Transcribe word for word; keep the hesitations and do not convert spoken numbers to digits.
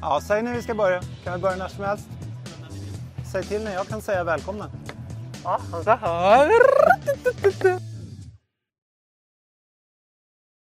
Ja, säg när vi ska börja. Kan vi börja när som helst? Säg till när jag kan säga välkomna. Ja, så här.